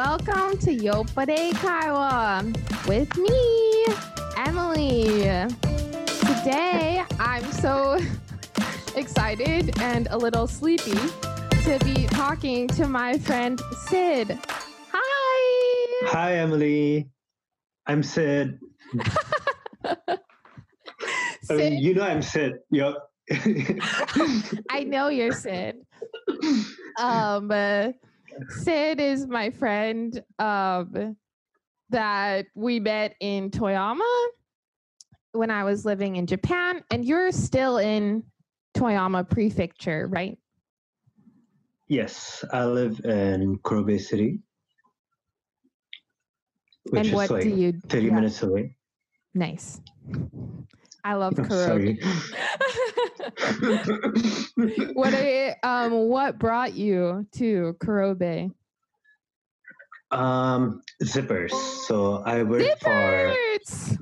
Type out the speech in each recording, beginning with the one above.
welcome to Yopade Kaiwa with me, Emily. Today, I'm so excited and a little sleepy to be talking to my friend Sid. Hi! Hi, Emily. I'm Sid. Sid? You know I'm Sid. Yep. I know you're Sid. Sid is my friend that we met in Toyama when I was living in Japan, and you're still in Toyama Prefecture, right? Yes, I live in Kurobe City, which And what is like do you 30 minutes away. Nice. I love I'm Kurobe. sorry. What brought you to Kurobe? Zippers. So I work for Zippers!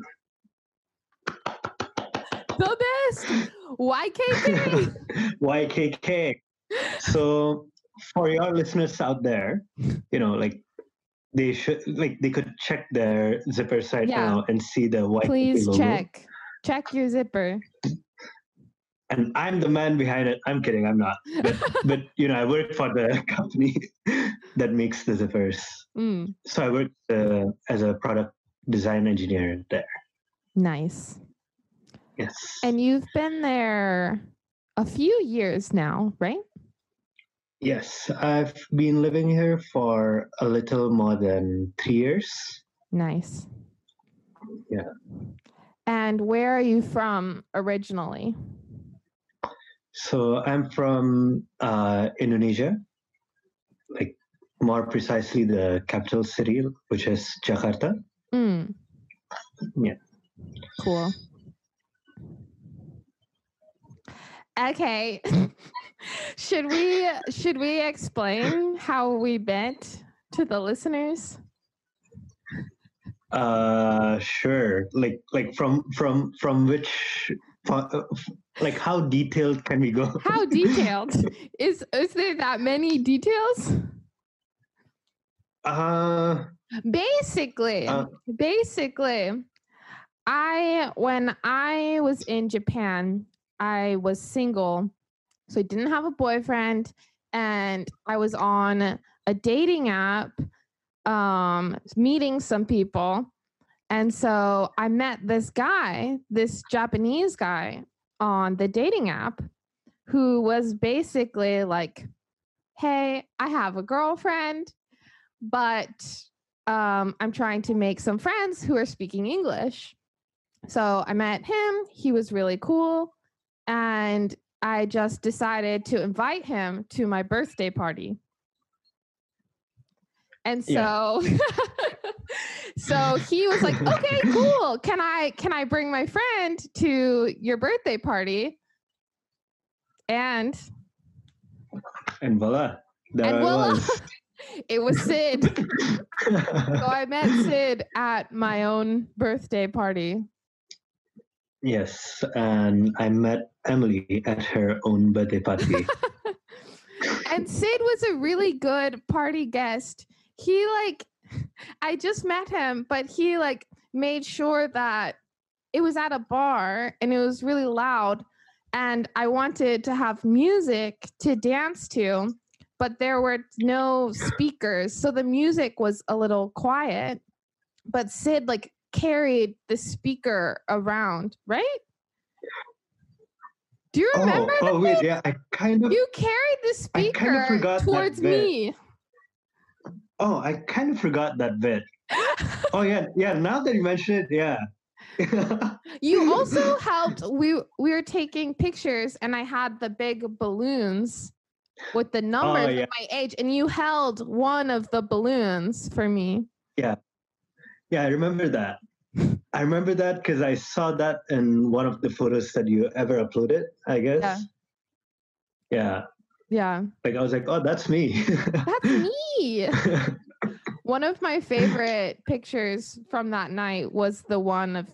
The best! YKK! YKK. So for your listeners out there, they could check their zipper site now and see the YKK Please logo. Check your zipper. And I'm the man behind it. I'm kidding. I'm not. But I work for the company that makes the zippers. So I work as a product design engineer there. Nice. Yes. And you've been there a few years now, right? Yes, I've been living here for a little more than 3 years. Nice. Yeah. And where are you from originally? So I'm from Indonesia, like more precisely the capital city, which is Jakarta. Yeah. Cool. Okay. Should we explain how we met to the listeners? Sure. Like from which, like how detailed can we go? How detailed? Is there that many details? Basically, when I was in Japan, I was single, so I didn't have a boyfriend, and I was on a dating app, meeting some people. And so I met this Japanese guy on the dating app who was basically like, hey, I have a girlfriend, but I'm trying to make some friends who are speaking English. So I met him. He was really cool. And I just decided to invite him to my birthday party. And so, so he was like, okay, cool. Can I bring my friend to your birthday party? And voila. It was Sid. So I met Sid at my own birthday party. Yes, and I met Emily at her own birthday party. And Sid was a really good party guest. I just met him, but he made sure that it was at a bar and it was really loud. And I wanted to have music to dance to, but there were no speakers. So the music was a little quiet, but Sid carried the speaker around, right? Do you remember? Oh wait, yeah, You carried the speaker towards me. Oh, I kind of forgot that bit. Oh yeah. Now that you mention it, yeah. You also helped. We were taking pictures, and I had the big balloons with the numbers of my age, and you held one of the balloons for me. Yeah, I remember that. I remember that because I saw that in one of the photos that you ever uploaded, I guess. Yeah. Like I was like, oh, that's me. That's me. One of my favorite pictures from that night was the one of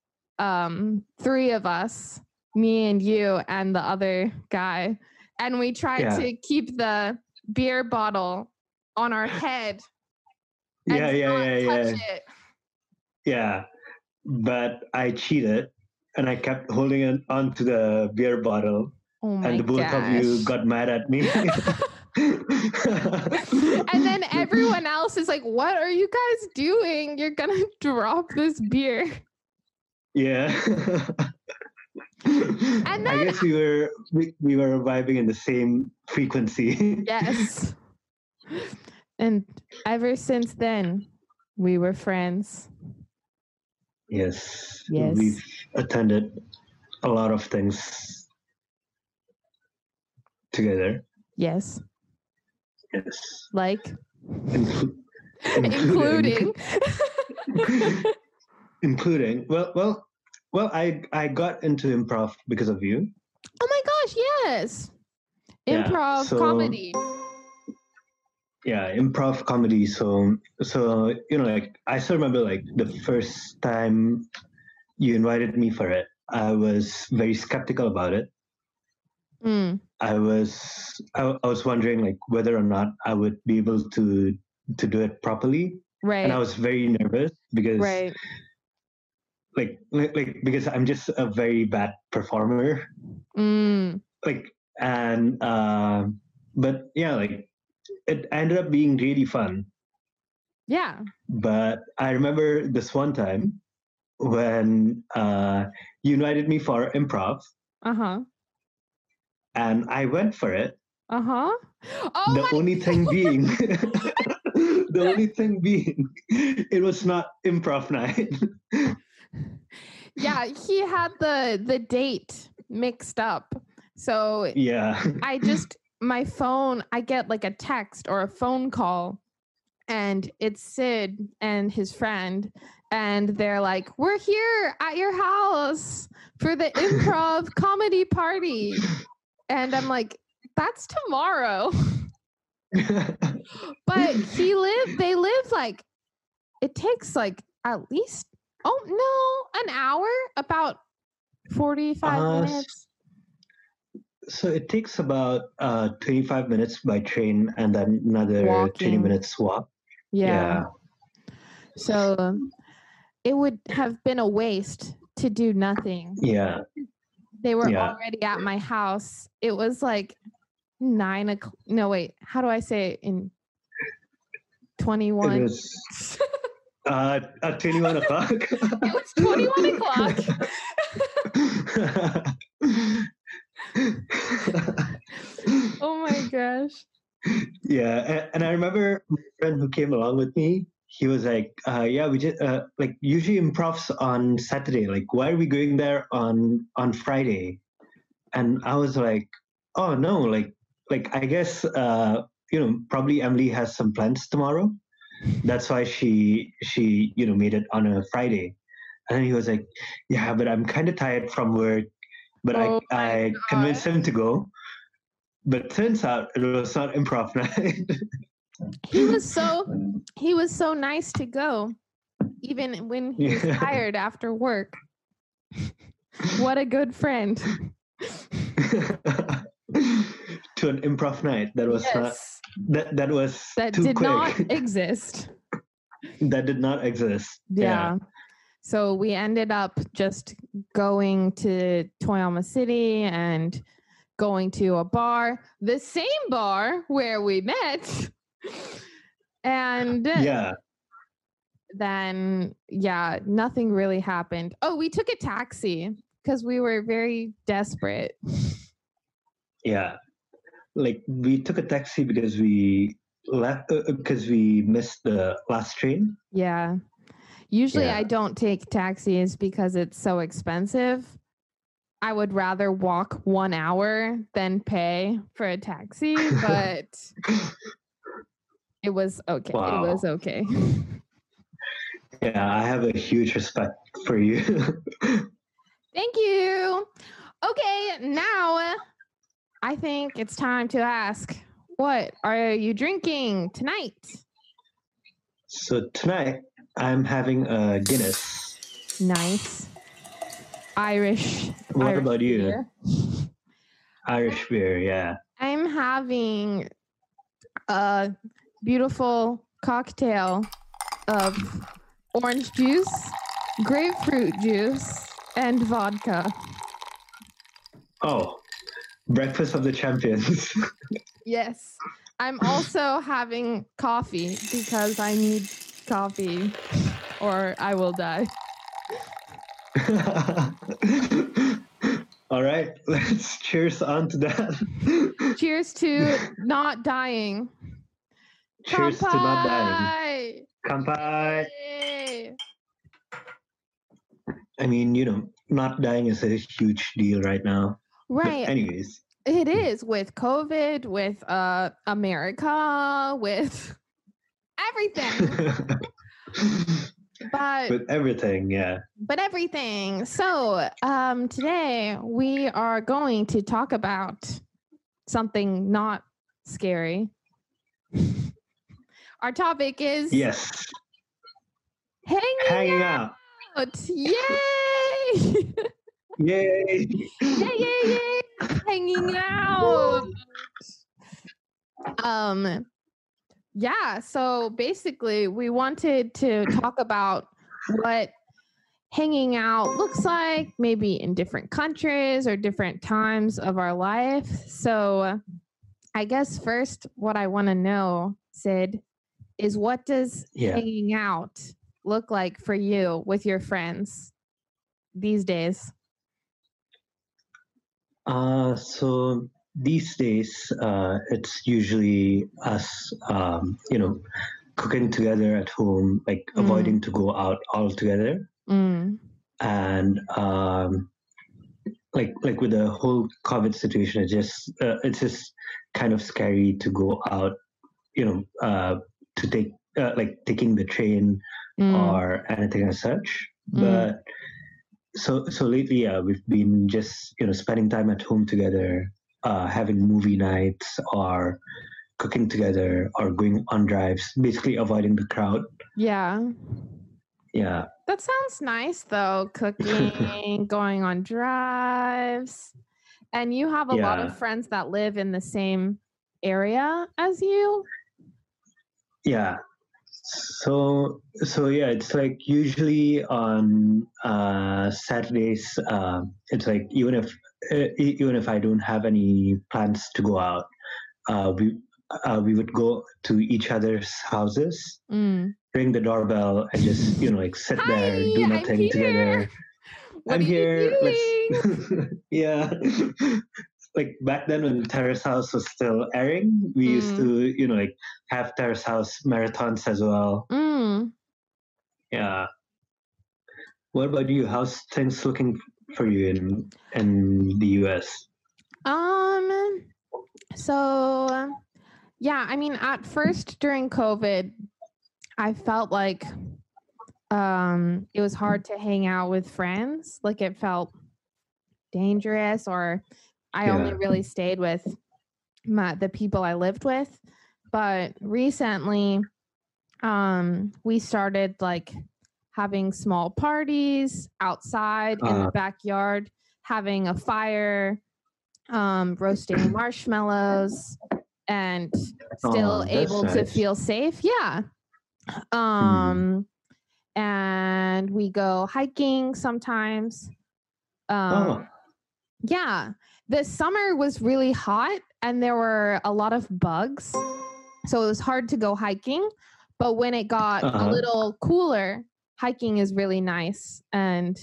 3 of us, me and you and the other guy. And we tried to keep the beer bottle on our head Yeah, and yeah, not yeah, touch yeah. it. Yeah. But I cheated and I kept holding it onto the beer bottle. Oh And my the both of you gosh. got mad at me. And then everyone else is like, what are you guys doing? You're gonna drop this beer. Yeah. And I then guess we were vibing in the same frequency. yes. And ever since then, we were friends. Yes. Yes. We've attended a lot of things together. Yes. Yes. Like including including. Well, I got into improv because of you. Oh my gosh, yes. Yeah, Improv comedy. Yeah, improv comedy. So like I still remember like the first time you invited me for it. I was very skeptical about it. I was wondering like whether or not I would be able to do it properly. Right. And I was very nervous because like because I'm just a very bad performer. Like and but yeah, like it ended up being really fun. Yeah. But I remember this one time when you invited me for improv. And I went for it. Oh the only thing being it was not improv night. Yeah, he had the date mixed up. So yeah. I just my phone, I get like a text or a phone call, and it's Sid and his friend, and they're like, "We're here at your house for the improv comedy party." And I'm like, "That's tomorrow." But they live like, it takes like at least, an hour, about 45 minutes. So it takes about 25 minutes by train and then another Walking. 20 minutes walk. Yeah. So it would have been a waste to do nothing. Yeah. They were already at my house. It was like 9 o'clock. No, wait. How do I say it in 21? It was at 21 o'clock. It was 21 o'clock. Oh my gosh. Yeah. And I remember my friend who came along with me, he was like, yeah, we just like usually improvs on Saturday. Like, why are we going there on Friday? And I was like, oh no, like I guess probably Emily has some plans tomorrow. That's why she made it on a Friday. And then he was like, yeah, but I'm kind of tired from work. But I convinced him to go. But turns out it was not improv night. He was so nice to go, even when he was tired after work. What a good friend. To an improv night that was not that too did quick. not exist. That did not exist. Yeah. So we ended up just going to Toyama City and going to a bar, the same bar where we met. And then nothing really happened. Oh, we took a taxi because we were very desperate. Yeah. Like we took a taxi because we left because we missed the last train. Yeah. Usually I don't take taxis because it's so expensive. I would rather walk 1 hour than pay for a taxi, but it was okay. Wow. It was okay. Yeah, I have a huge respect for you. Thank you. Okay, now I think it's time to ask, what are you drinking tonight? So tonight I'm having a Guinness. Nice. Irish. What about you? Beer. Irish beer, yeah. I'm having a beautiful cocktail of orange juice, grapefruit juice, and vodka. Oh, breakfast of the champions. Yes. I'm also having coffee because I need coffee or I will die. All right, let's cheers on to that. Cheers to not dying. Cheers to not dying. Kanpai. Yay. I mean, not dying is a huge deal right now. Right. But anyways. It is with COVID, with America, with everything. But with everything, yeah. But everything. So today we are going to talk about something not scary. Our topic is hanging out. Yay! Yay! Yay! Hanging out. Yeah, so basically we wanted to talk about what hanging out looks like, maybe in different countries or different times of our life. So I guess first what I want to know, Sid, is what does hanging out look like for you with your friends these days? So these days, it's usually us, cooking together at home, like avoiding to go out altogether. And like with the whole COVID situation, it's just kind of scary to go out, to take taking the train or anything as such. But so lately, we've been just spending time at home together, having movie nights or cooking together or going on drives, basically avoiding the crowd. Yeah. That sounds nice though, cooking, going on drives. And you have a lot of friends that live in the same area as you? Yeah. So yeah, it's like usually on Saturdays. It's like even if I don't have any plans to go out, we would go to each other's houses, ring the doorbell, and just sit there, do nothing together. I'm here. Yeah. Like back then when Terrace House was still airing, we used to, have Terrace House marathons as well. Yeah. What about you? How's things looking for you in the US? So yeah, I mean, at first during COVID, I felt like it was hard to hang out with friends. Like it felt dangerous, or I only really stayed with the people I lived with. But recently, we started like having small parties outside in the backyard, having a fire, roasting marshmallows, and still able to feel safe. Yeah. And we go hiking sometimes. Yeah. The summer was really hot and there were a lot of bugs. So it was hard to go hiking. But when it got a little cooler, hiking is really nice. And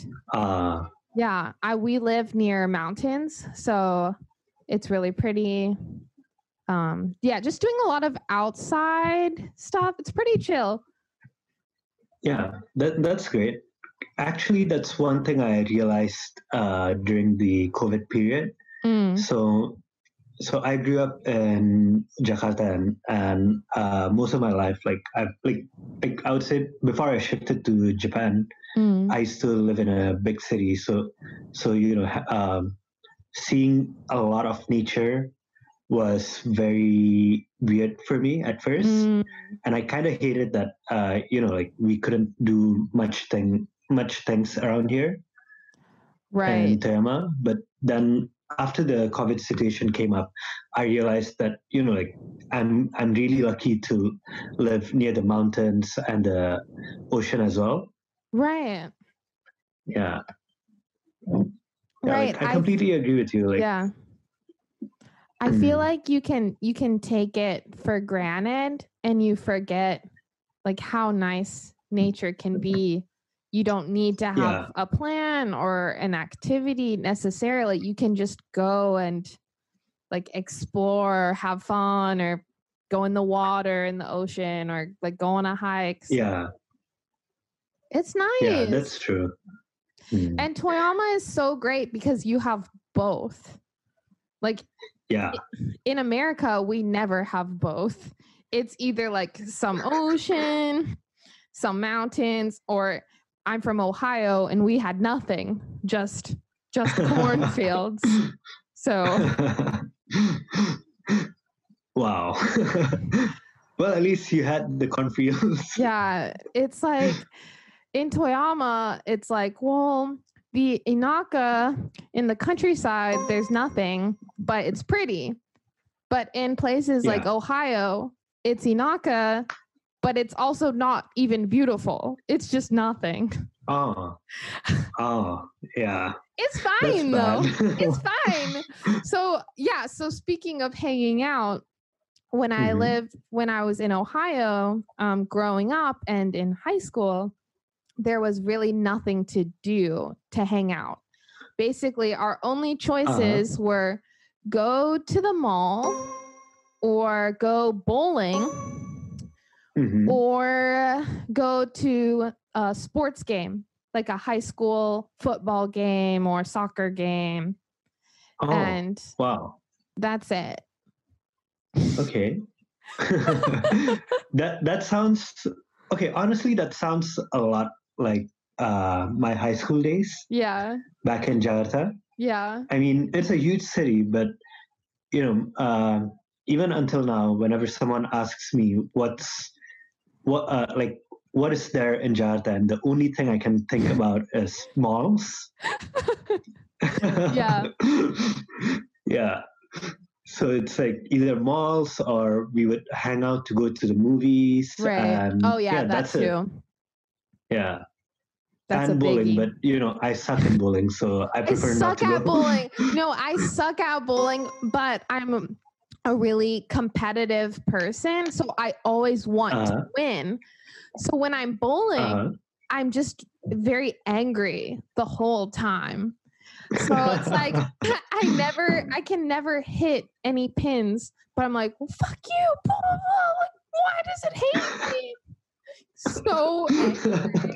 we live near mountains, so it's really pretty. Just doing a lot of outside stuff. It's pretty chill. Yeah, that's great. Actually, that's one thing I realized during the COVID period. So I grew up in Jakarta, and most of my life, I would say before I shifted to Japan, I still live in a big city. So seeing a lot of nature was very weird for me at first, and I kind of hated that. We couldn't do much things around here, right? In Toyama, but then after the COVID situation came up, I realized that, like I'm really lucky to live near the mountains and the ocean as well. Right. Yeah. Right. Like, I completely agree with you. Like, yeah. I feel like you can take it for granted and you forget like how nice nature can be. You don't need to have a plan or an activity necessarily. You can just go and like explore, have fun, or go in the water in the ocean, or like go on a hike. Yeah. It's nice. Yeah, that's true. And Toyama is so great because you have both. Like, in America, we never have both. It's either like some ocean, some mountains, or I'm from Ohio and we had nothing, just cornfields. So, wow. Well, at least you had the cornfields. Yeah, it's like in Toyama, it's like, well, the Inaka in the countryside, there's nothing, but it's pretty. But in places like Ohio, it's Inaka, but it's also not even beautiful. It's just nothing. Oh, yeah. It's fine though. It's fine. So yeah. So speaking of hanging out, when I was in Ohio, growing up and in high school, there was really nothing to do to hang out. Basically, our only choices were go to the mall or go bowling or go to a sports game, like a high school football game or soccer game. Oh, and wow. That's it. Okay. that sounds okay. Honestly, that sounds a lot like my high school days. Yeah. Back in Jakarta. Yeah. I mean, it's a huge city, but even until now, whenever someone asks me what is there in Jakarta, and the only thing I can think about is malls. Yeah. Yeah. So it's like either malls or we would hang out to go to the movies. Right. And that's too. Yeah. That's and a bowling, biggie. but I suck at bowling, so I prefer not to go. I suck at bowling. No, I suck at bowling, but I'm a really competitive person, so I always want to win. So when I'm bowling, I'm just very angry the whole time. So it's like I can never hit any pins, but I'm like, well, fuck you, blah, blah, blah. Like, why does it hate me? So angry.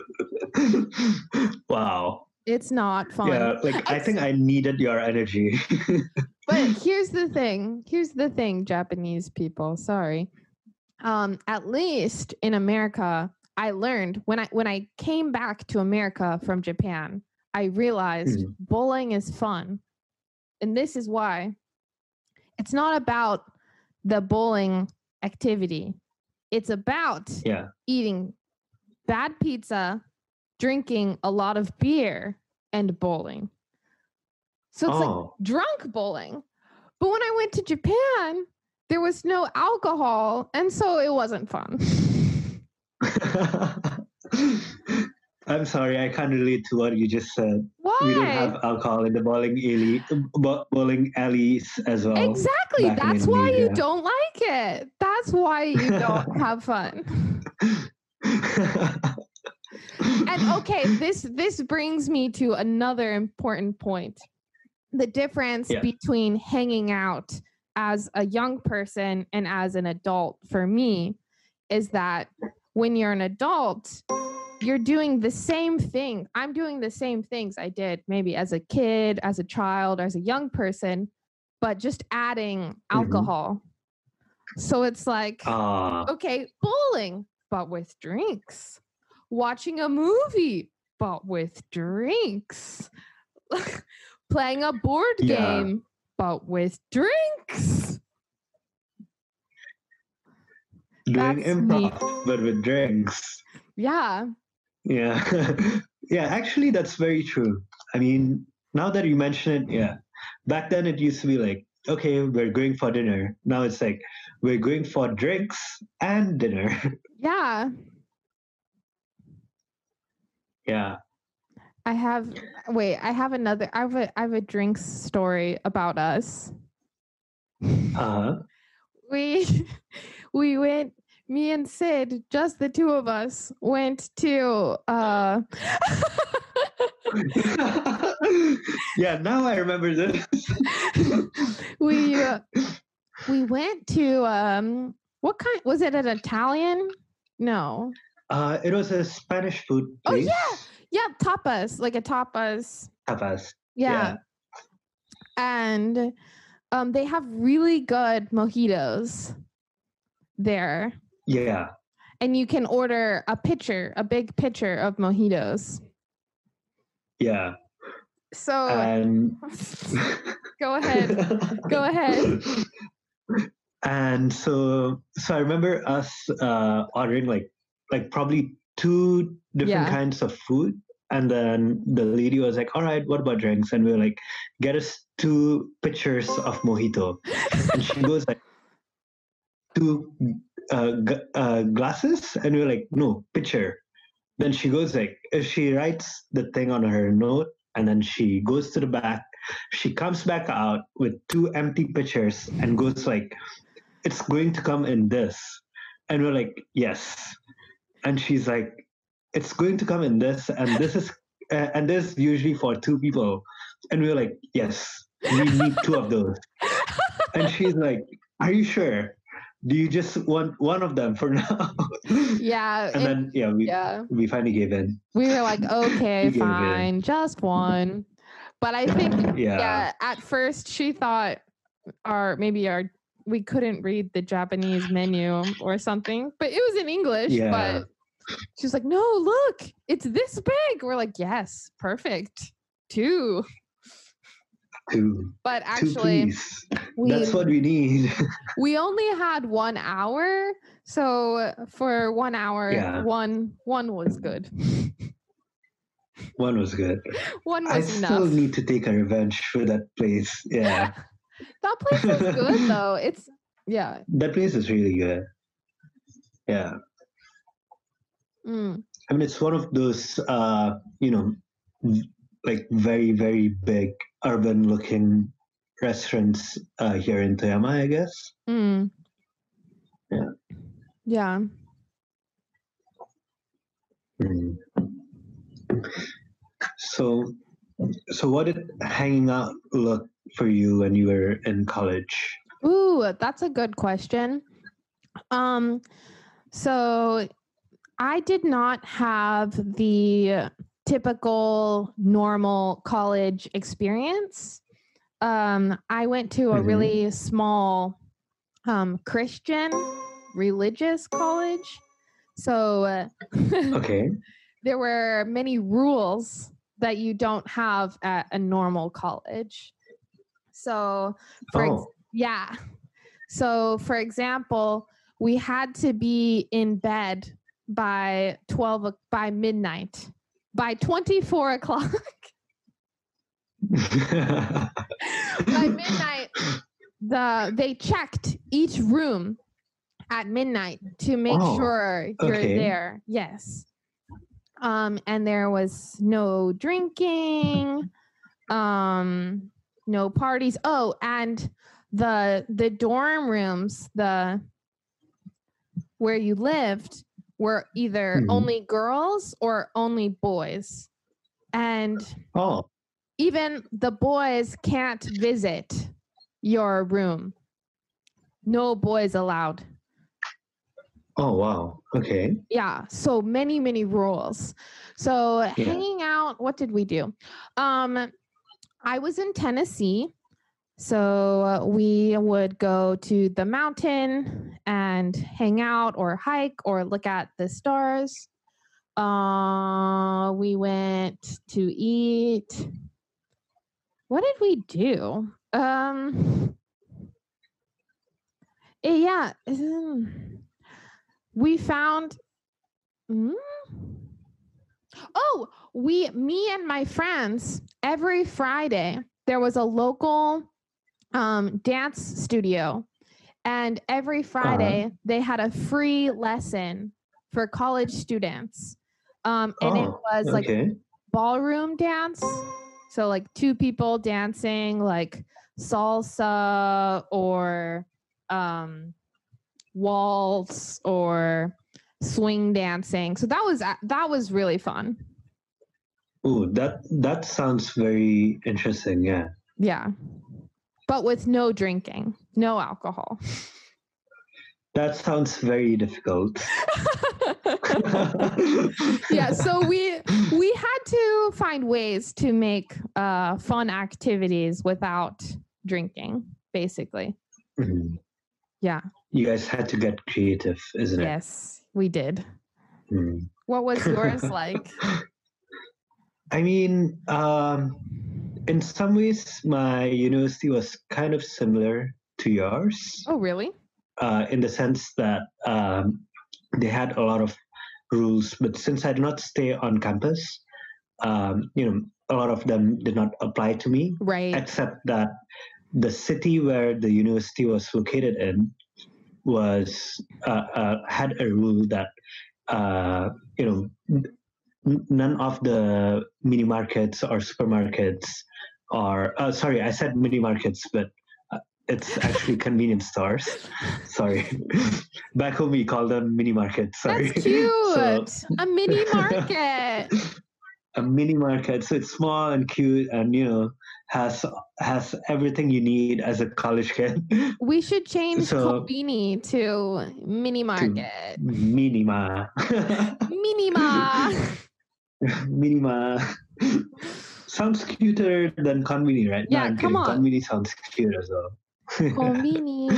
Wow. It's not fun. Yeah, I think I needed your energy. But here's the thing, Japanese people, sorry. At least in America, I learned when I came back to America from Japan, I realized bowling is fun. And this is why. It's not about the bowling activity. It's about eating bad pizza, drinking a lot of beer, and bowling. So it's like drunk bowling. But when I went to Japan, there was no alcohol, and so it wasn't fun. I'm sorry, I can't relate to what you just said. Why? We don't have alcohol in the bowling alleys as well. Exactly. That's why you don't like it. That's why you don't have fun. And okay, this brings me to another important point. The difference between hanging out as a young person and as an adult for me is that when you're an adult, you're doing the same thing. I'm doing the same things I did maybe as a kid, as a child, as a young person, but just adding alcohol. So it's like, okay, bowling, but with drinks. Watching a movie, but with drinks. Playing a board game, but with drinks. Doing improv, but with drinks. Yeah. Yeah. Yeah, actually, that's very true. I mean, now that you mention it, back then it used to be like, okay, we're going for dinner. Now it's like, we're going for drinks and dinner. Yeah. Yeah. I have a drinks story about us. Uh-huh. We went, me and Sid, just the two of us, went to Yeah, now I remember this. we went to what kind was it, an Italian? No. It was a Spanish food place. Oh yeah, tapas, like a tapas. Tapas. Yeah. And they have really good mojitos there. Yeah. And you can order a big pitcher of mojitos. Yeah. So go ahead. And so I remember us ordering like probably 2 different kinds of food. And then the lady was like, all right, what about drinks? And we were like, get us 2 pitchers of mojito. And she goes like, 2 glasses? And we were like, no, pitcher. Then she goes like, she writes the thing on her note, and then she goes to the back. She comes back out with 2 empty pitchers and goes like, it's going to come in this. And we're like, yes. And she's like, it's going to come in this, and this is and this usually for 2 people. And we're like, yes, we need 2 of those. And she's like, are you sure? Do you just want one of them for now? Yeah. And then we finally gave in. We were like, okay, fine, just one. But I think at first she thought we couldn't read the Japanese menu or something, but it was in English. Yeah. But she's like, no, look, it's this big. We're like, yes, perfect. 2. But actually, that's what we need. We only had 1 hour, so for 1 hour, one was good. One was good. One was enough. I still need to take a revenge for that place. Yeah. That place is good though. That place is really good. Yeah. Mm. I mean, it's one of those, like very, very big urban looking restaurants here in Toyama, I guess. Mm. Yeah. Yeah. Mm. So what did hanging out look for you when you were in college? Ooh, that's a good question. So I did not have the typical normal college experience. I went to a really small Christian religious college. So okay. There were many rules that you don't have at a normal college. So for example, we had to be in bed by midnight, by 24 o'clock. By midnight, they checked each room at midnight to make sure you're there. Yes. And there was no drinking, no parties. Oh, and the dorm rooms, where you lived, were either only girls or only boys. And even the boys can't visit your room. No boys allowed. Oh, wow. Okay. Yeah. So many, many rules. So hanging out, what did we do? I was in Tennessee. So we would go to the mountain and hang out or hike or look at the stars. We went to eat. What did we do? We found. Me and my friends, every Friday, there was a local dance studio, and every Friday they had a free lesson for college students. And it was like ballroom dance. So like two people dancing like salsa or waltz or swing dancing. So that was really fun. Oh, that sounds very interesting. Yeah. Yeah. But with no drinking, no alcohol. That sounds very difficult. Yeah, so we had to find ways to make fun activities without drinking, basically. Mm-hmm. Yeah. You guys had to get creative, isn't it? Yes, we did. Mm. What was yours like? I mean, in some ways, my university was kind of similar to yours. Oh, really? In the sense that they had a lot of rules, but since I did not stay on campus, a lot of them did not apply to me. Right. Except that the city where the university was located in was had a rule that none of the mini markets or supermarkets are sorry, I said mini markets, but it's actually convenience stores. Sorry. Back home we call them mini markets. Sorry. That's cute. So, a mini market. A mini market. So it's small and cute and has everything you need as a college kid. We should change Konbini to mini market. Minima. Minima. Minima. Sounds cuter than Konbini, right? Yeah, no, come on. Konbini sounds cute as well. Konbini.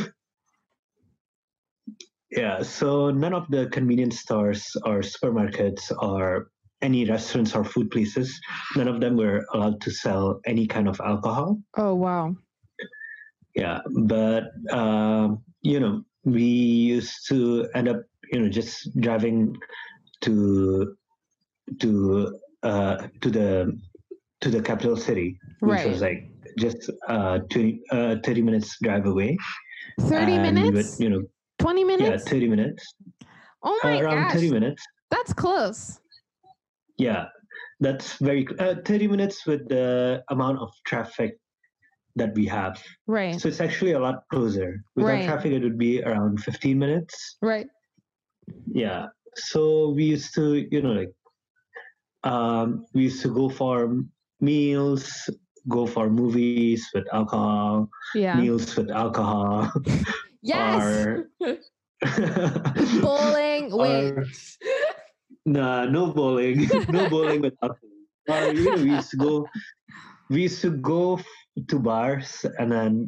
Yeah, so none of the convenience stores or supermarkets or any restaurants or food places, none of them were allowed to sell any kind of alcohol. Oh, wow. Yeah, but, we used to end up, just driving to the capital city, which was like just 30 minutes drive away. 30 minutes? 20 minutes? Yeah, 30 minutes. Oh my gosh. Around 30 minutes. That's close. Yeah, that's very 30 minutes with the amount of traffic that we have. Right. So it's actually a lot closer. Without traffic, it would be around 15 minutes. Right. Yeah. So we used to, we used to go for meals, go for movies with alcohol, meals with alcohol. Yes. Bowling. Wait. No bowling. No bowling with alcohol. Or, we used to go to bars and then,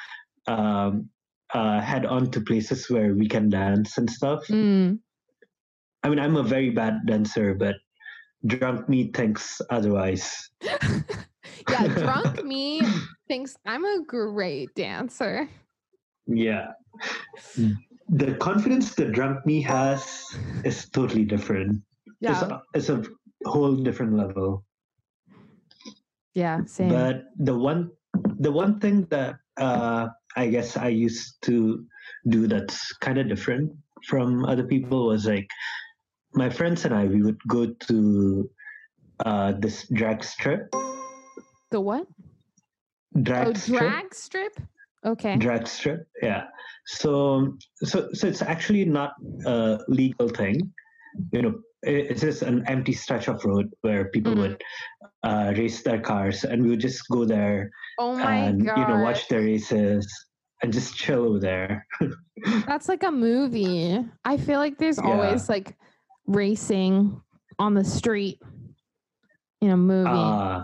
head on to places where we can dance and stuff. Mm. I mean, I'm a very bad dancer, but drunk me thinks otherwise. Yeah, drunk me thinks I'm a great dancer. Yeah. The confidence the drunk me has is totally different. Yeah. It's a whole different level. Yeah, same. But the one thing that I guess I used to do that's kind of different from other people was like my friends and I, we would go to this drag strip. The what? Drag strip. Drag strip? Okay. Drag strip, yeah. So it's actually not a legal thing. It's just an empty stretch of road where people would race their cars, and we would just go there and watch the races and just chill over there. That's like a movie. I feel like there's always like racing on the street in a movie.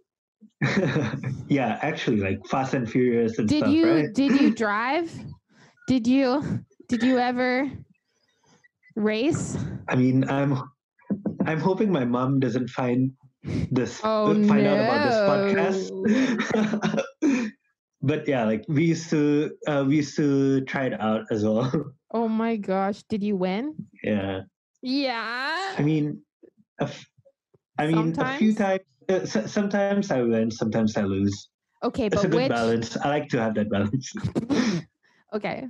Yeah, actually, like Fast and Furious and stuff, right? Did you drive? Did you ever race? I mean, I'm hoping my mom doesn't find out about this podcast. But yeah, like we used to try it out as well. Oh my gosh, did you win? Yeah. Yeah. I mean, a few times Sometimes I win, sometimes I lose. Okay, It's a but good which? balance. I like to have that balance. Okay.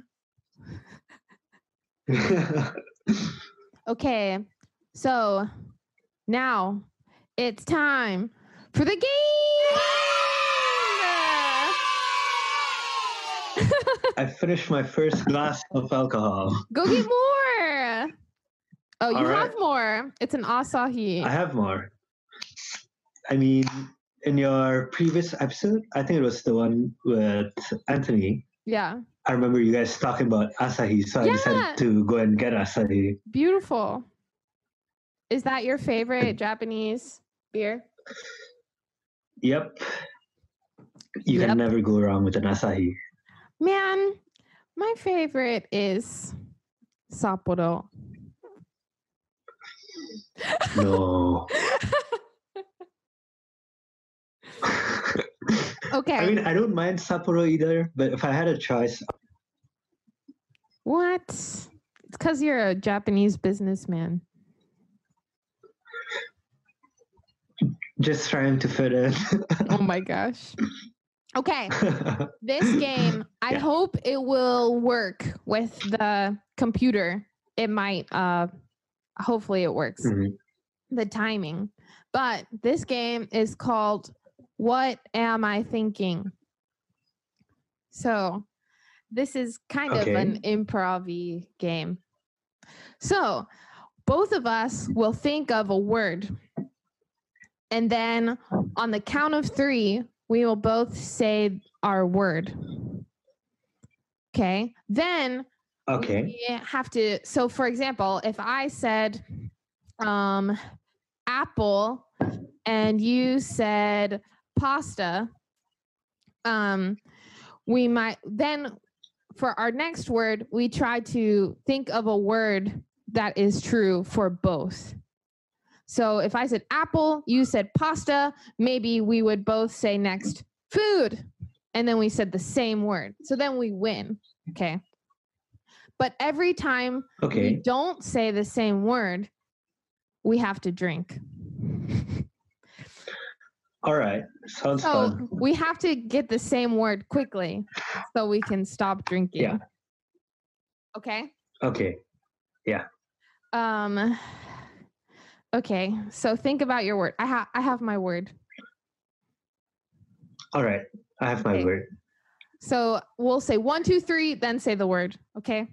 Okay. So now it's time for the game. I finished my first glass of alcohol. Go get more. Oh, you All right. have more. It's an Asahi. I have more. I mean, in your previous episode, I think it was the one with Anthony. Yeah. I remember you guys talking about Asahi, so I decided to go and get Asahi. Beautiful. Is that your favorite Japanese beer? Yep. You can never go wrong with an Asahi. Man, my favorite is Sapporo. No. Okay. I mean, I don't mind Sapporo either, but if I had a choice. What? It's because you're a Japanese businessman. Just trying to fit in. Oh my gosh. Okay. This game, I hope it will work with the computer. It might, hopefully it works. Mm-hmm. The timing. But this game is called What Am I Thinking? So this is kind of an improv-y game. So both of us will think of a word. And then on the count of 3, we will both say our word. Okay. Then we have to. So, for example, if I said apple and you said pasta, we might then for our next word, we try to think of a word that is true for both. So if I said apple, you said pasta, maybe we would both say next food. And then we said the same word. So then we win. Okay. But every time we don't say the same word, we have to drink. All right. Sounds fun. We have to get the same word quickly so we can stop drinking. Yeah. Okay? Okay. Yeah. Okay, so think about your word. I have my word. All right, I have my word. So we'll say 1, 2, 3, then say the word. Okay.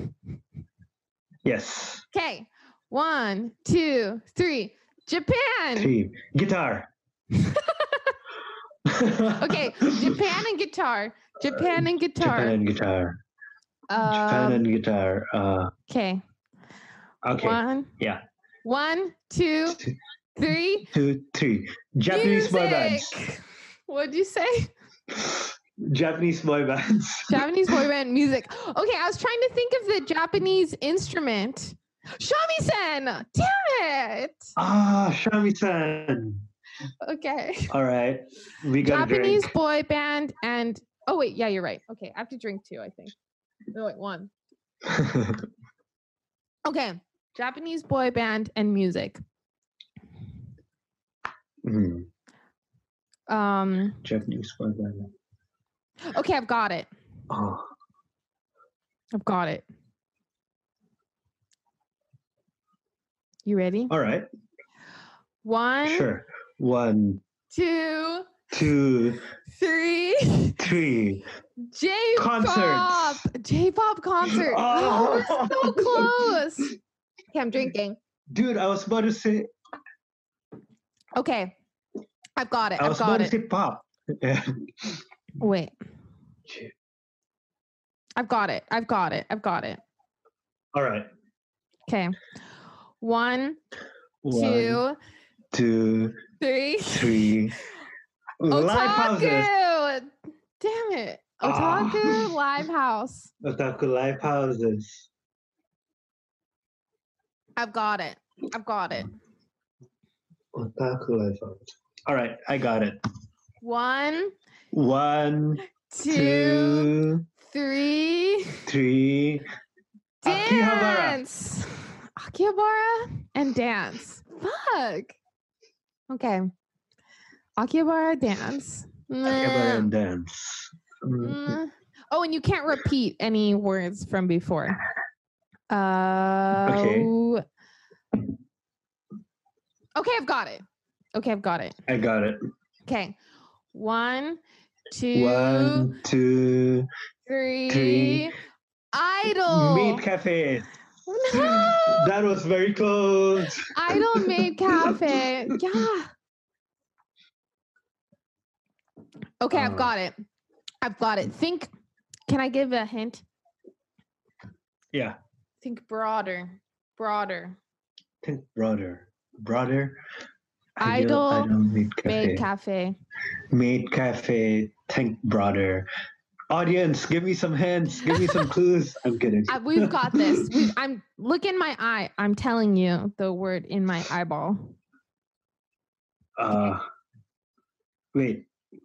Yes. Okay. 1, 2, 3. Japan. 3. Guitar. Okay. Japan and guitar. Japan and guitar. Japan and guitar. Japan and guitar. Okay. Okay. 1, 2, 3. 2, 3. Japanese boy bands. What'd you say? Japanese boy bands. Japanese boy band music. Okay, I was trying to think of the Japanese instrument. Shamisen! Damn it! Shamisen. Okay. All right. We got Japanese boy band and... Oh, wait. Yeah, you're right. Okay, I have to drink 2, I think. No, wait, 1. Okay. Japanese boy band and music. Japanese boy band. Okay, I've got it. Oh. I've got it. You ready? All right. 1. Sure. 1, 2, 2, 3. 3. J-pop. J-pop concert. Oh, we're so close. Okay, I'm drinking. Dude, I was about to say. Okay, I've got it. I was about to say pop. Yeah. Wait. I've got it. All right. Okay. 1, 2, 3. Live houses. Damn it. Otaku live house. Otaku live houses. I've got it. Otaku live house. All right, I got it. 1, 2, 3. Dance. Akihabara and dance. Fuck. Okay. Akihabara dance. Akihabara and dance. Oh, and you can't repeat any words from before. Okay. Okay, I've got it. I got it. Okay. 1, 2, 1, 2, 3. Idol. Maid Cafe. No! That was very close. Idol Maid Cafe. Yeah. Okay, I've got it. Think. Can I give a hint? Yeah. Think broader. Think broader. Idol Maid Cafe. Maid Cafe. Maid Cafe. Think broader. Audience, give me some hints. Give me some clues. I'm kidding. We've got this. Look in my eye. I'm telling you the word in my eyeball. Wait.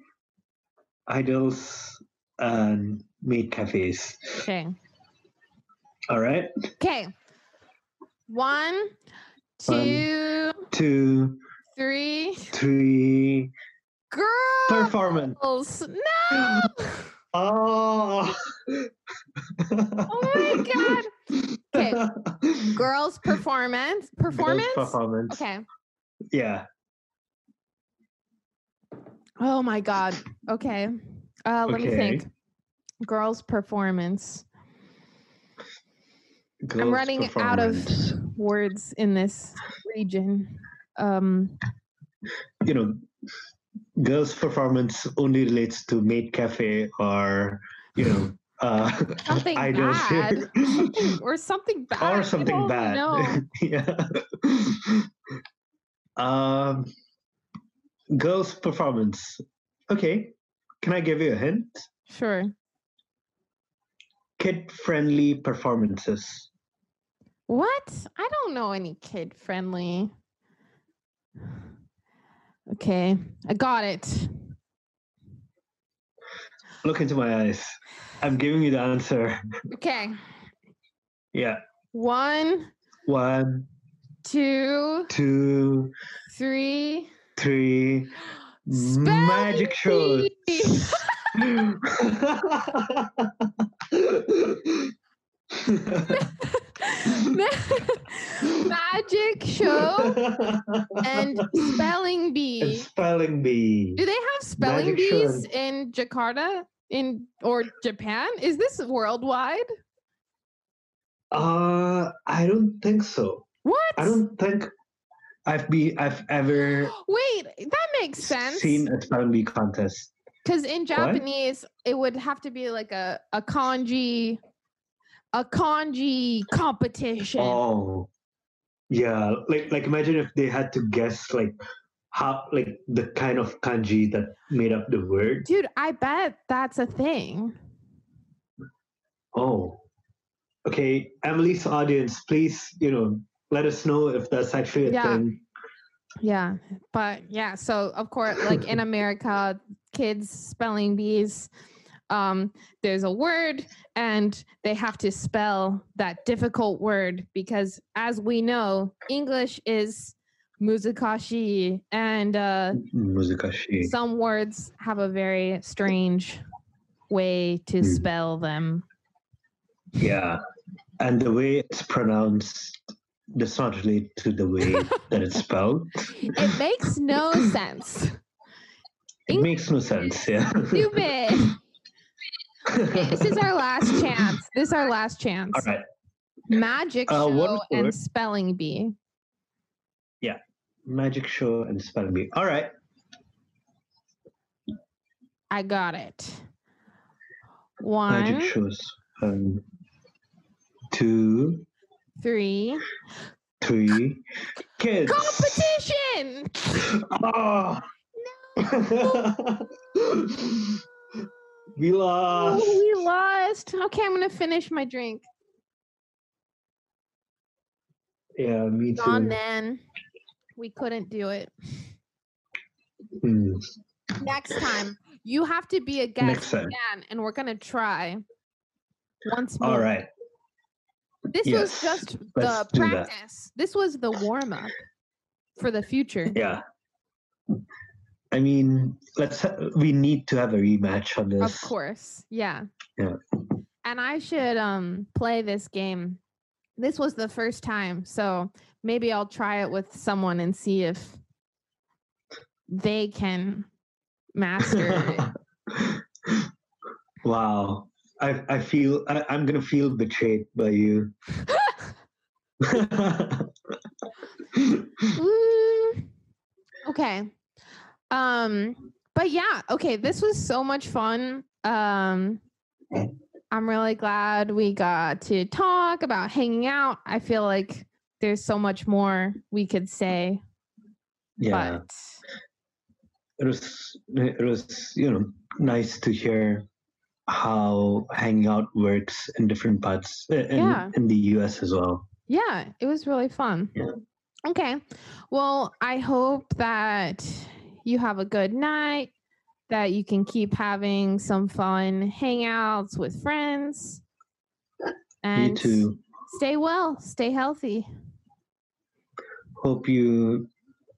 Idols and maid cafes. Okay. All right. Okay. 1, 2, 3. Girls. Performance. No. Oh. Oh my god. Okay. Girls performance. Performance. Okay. Yeah. Oh my god. Okay. Let me think. Girls performance. I'm running out of words in this region. Girls performance only relates to maid cafe or something idols bad. something bad. Or something bad. No. Yeah. Girls performance. Okay. Can I give you a hint? Sure. Kid-friendly performances. What? I don't know any kid-friendly. Okay. I got it. Look into my eyes. I'm giving you the answer. Okay. Yeah. 1, 2, 3. Magic shows. Magic show and spelling bee. Do they have spelling Magic bees in Jakarta or Japan? Is this worldwide? I don't think so. What? I don't think I've ever that makes sense. Seen a spelling bee contest. Because in Japanese, it would have to be like a kanji competition. Oh, yeah. Like imagine if they had to guess how the kind of kanji that made up the word. Dude, I bet that's a thing. Oh, okay. Emily's audience, please, let us know if that's actually a thing. Yeah, but yeah. So of course, like in America, kids spelling bees. There's a word and they have to spell that difficult word because as we know, English is muzikashi and some words have a very strange way to spell them. Yeah. And the way it's pronounced does not relate to the way that it's spelled. It makes no sense. It makes no sense, yeah. Stupid. Okay, this is our last chance. All right. Magic show and spelling bee. Yeah. Magic show and spelling bee. All right. I got it. 1. Magic shows. 2, 3. Kids. Competition. Oh. No. We lost. Oh, we lost. Okay, I'm gonna finish my drink. Yeah, me too. On then. We couldn't do it. Next time, you have to be a guest again, and we're gonna try once more. All right. This was just the practice. This was the warm up for the future. Yeah. I mean, we need to have a rematch on this. Of course. Yeah. Yeah. And I should play this game. This was the first time, so maybe I'll try it with someone and see if they can master it. Wow. I feel I'm gonna feel betrayed by you. Okay. But yeah, okay, this was so much fun. I'm really glad we got to talk about hanging out. I feel like there's so much more we could say. Yeah. But it was, nice to hear how hanging out works in different parts in the US as well. Yeah, it was really fun. Yeah. Okay. Well, I hope that you have a good night, that you can keep having some fun hangouts with friends. And Me too. Stay well, stay healthy. Hope you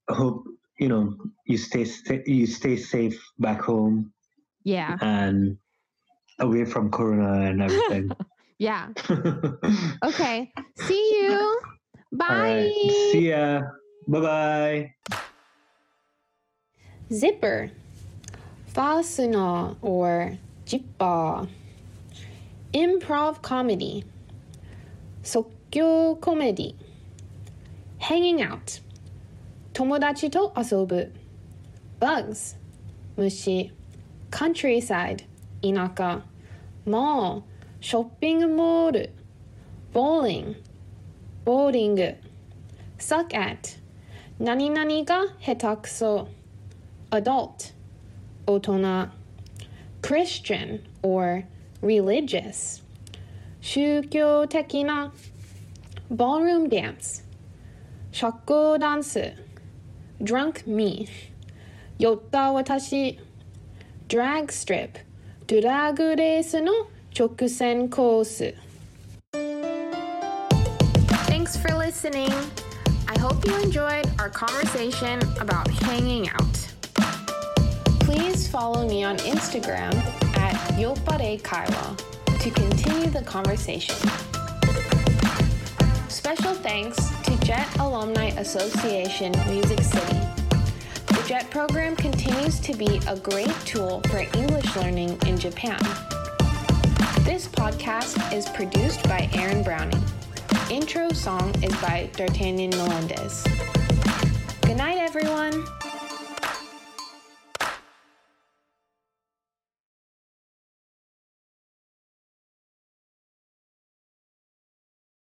stay safe back home. Yeah. And away from Corona and everything. Yeah. Okay. See you. Bye. Right. See ya. Bye-bye. Zipper. Fastener or zipper. Improv comedy. 即興コメディ. Hanging out. 友達と遊ぶ. Bugs. 虫. Countryside. 田舎. Mall. ショッピングモール. Bowling. ボーリング. Suck at. 何々が下手くそ. Adult. 大人. Christian or religious. 宗教的な. Ballroom dance. 社交ダンス. Drunk me. 酔った私. Drag strip. ドラッグレースの直線コース. Thanks for listening. I hope you enjoyed our conversation about hanging out. Please follow me on Instagram at yoppare.kaiwa to continue the conversation. Special thanks to JET Alumni Association Music City. The JET program continues to be a great tool for English learning in Japan. This podcast is produced by Aaron Browning. Intro song is by D'Artagnan Melendez. Good night, everyone!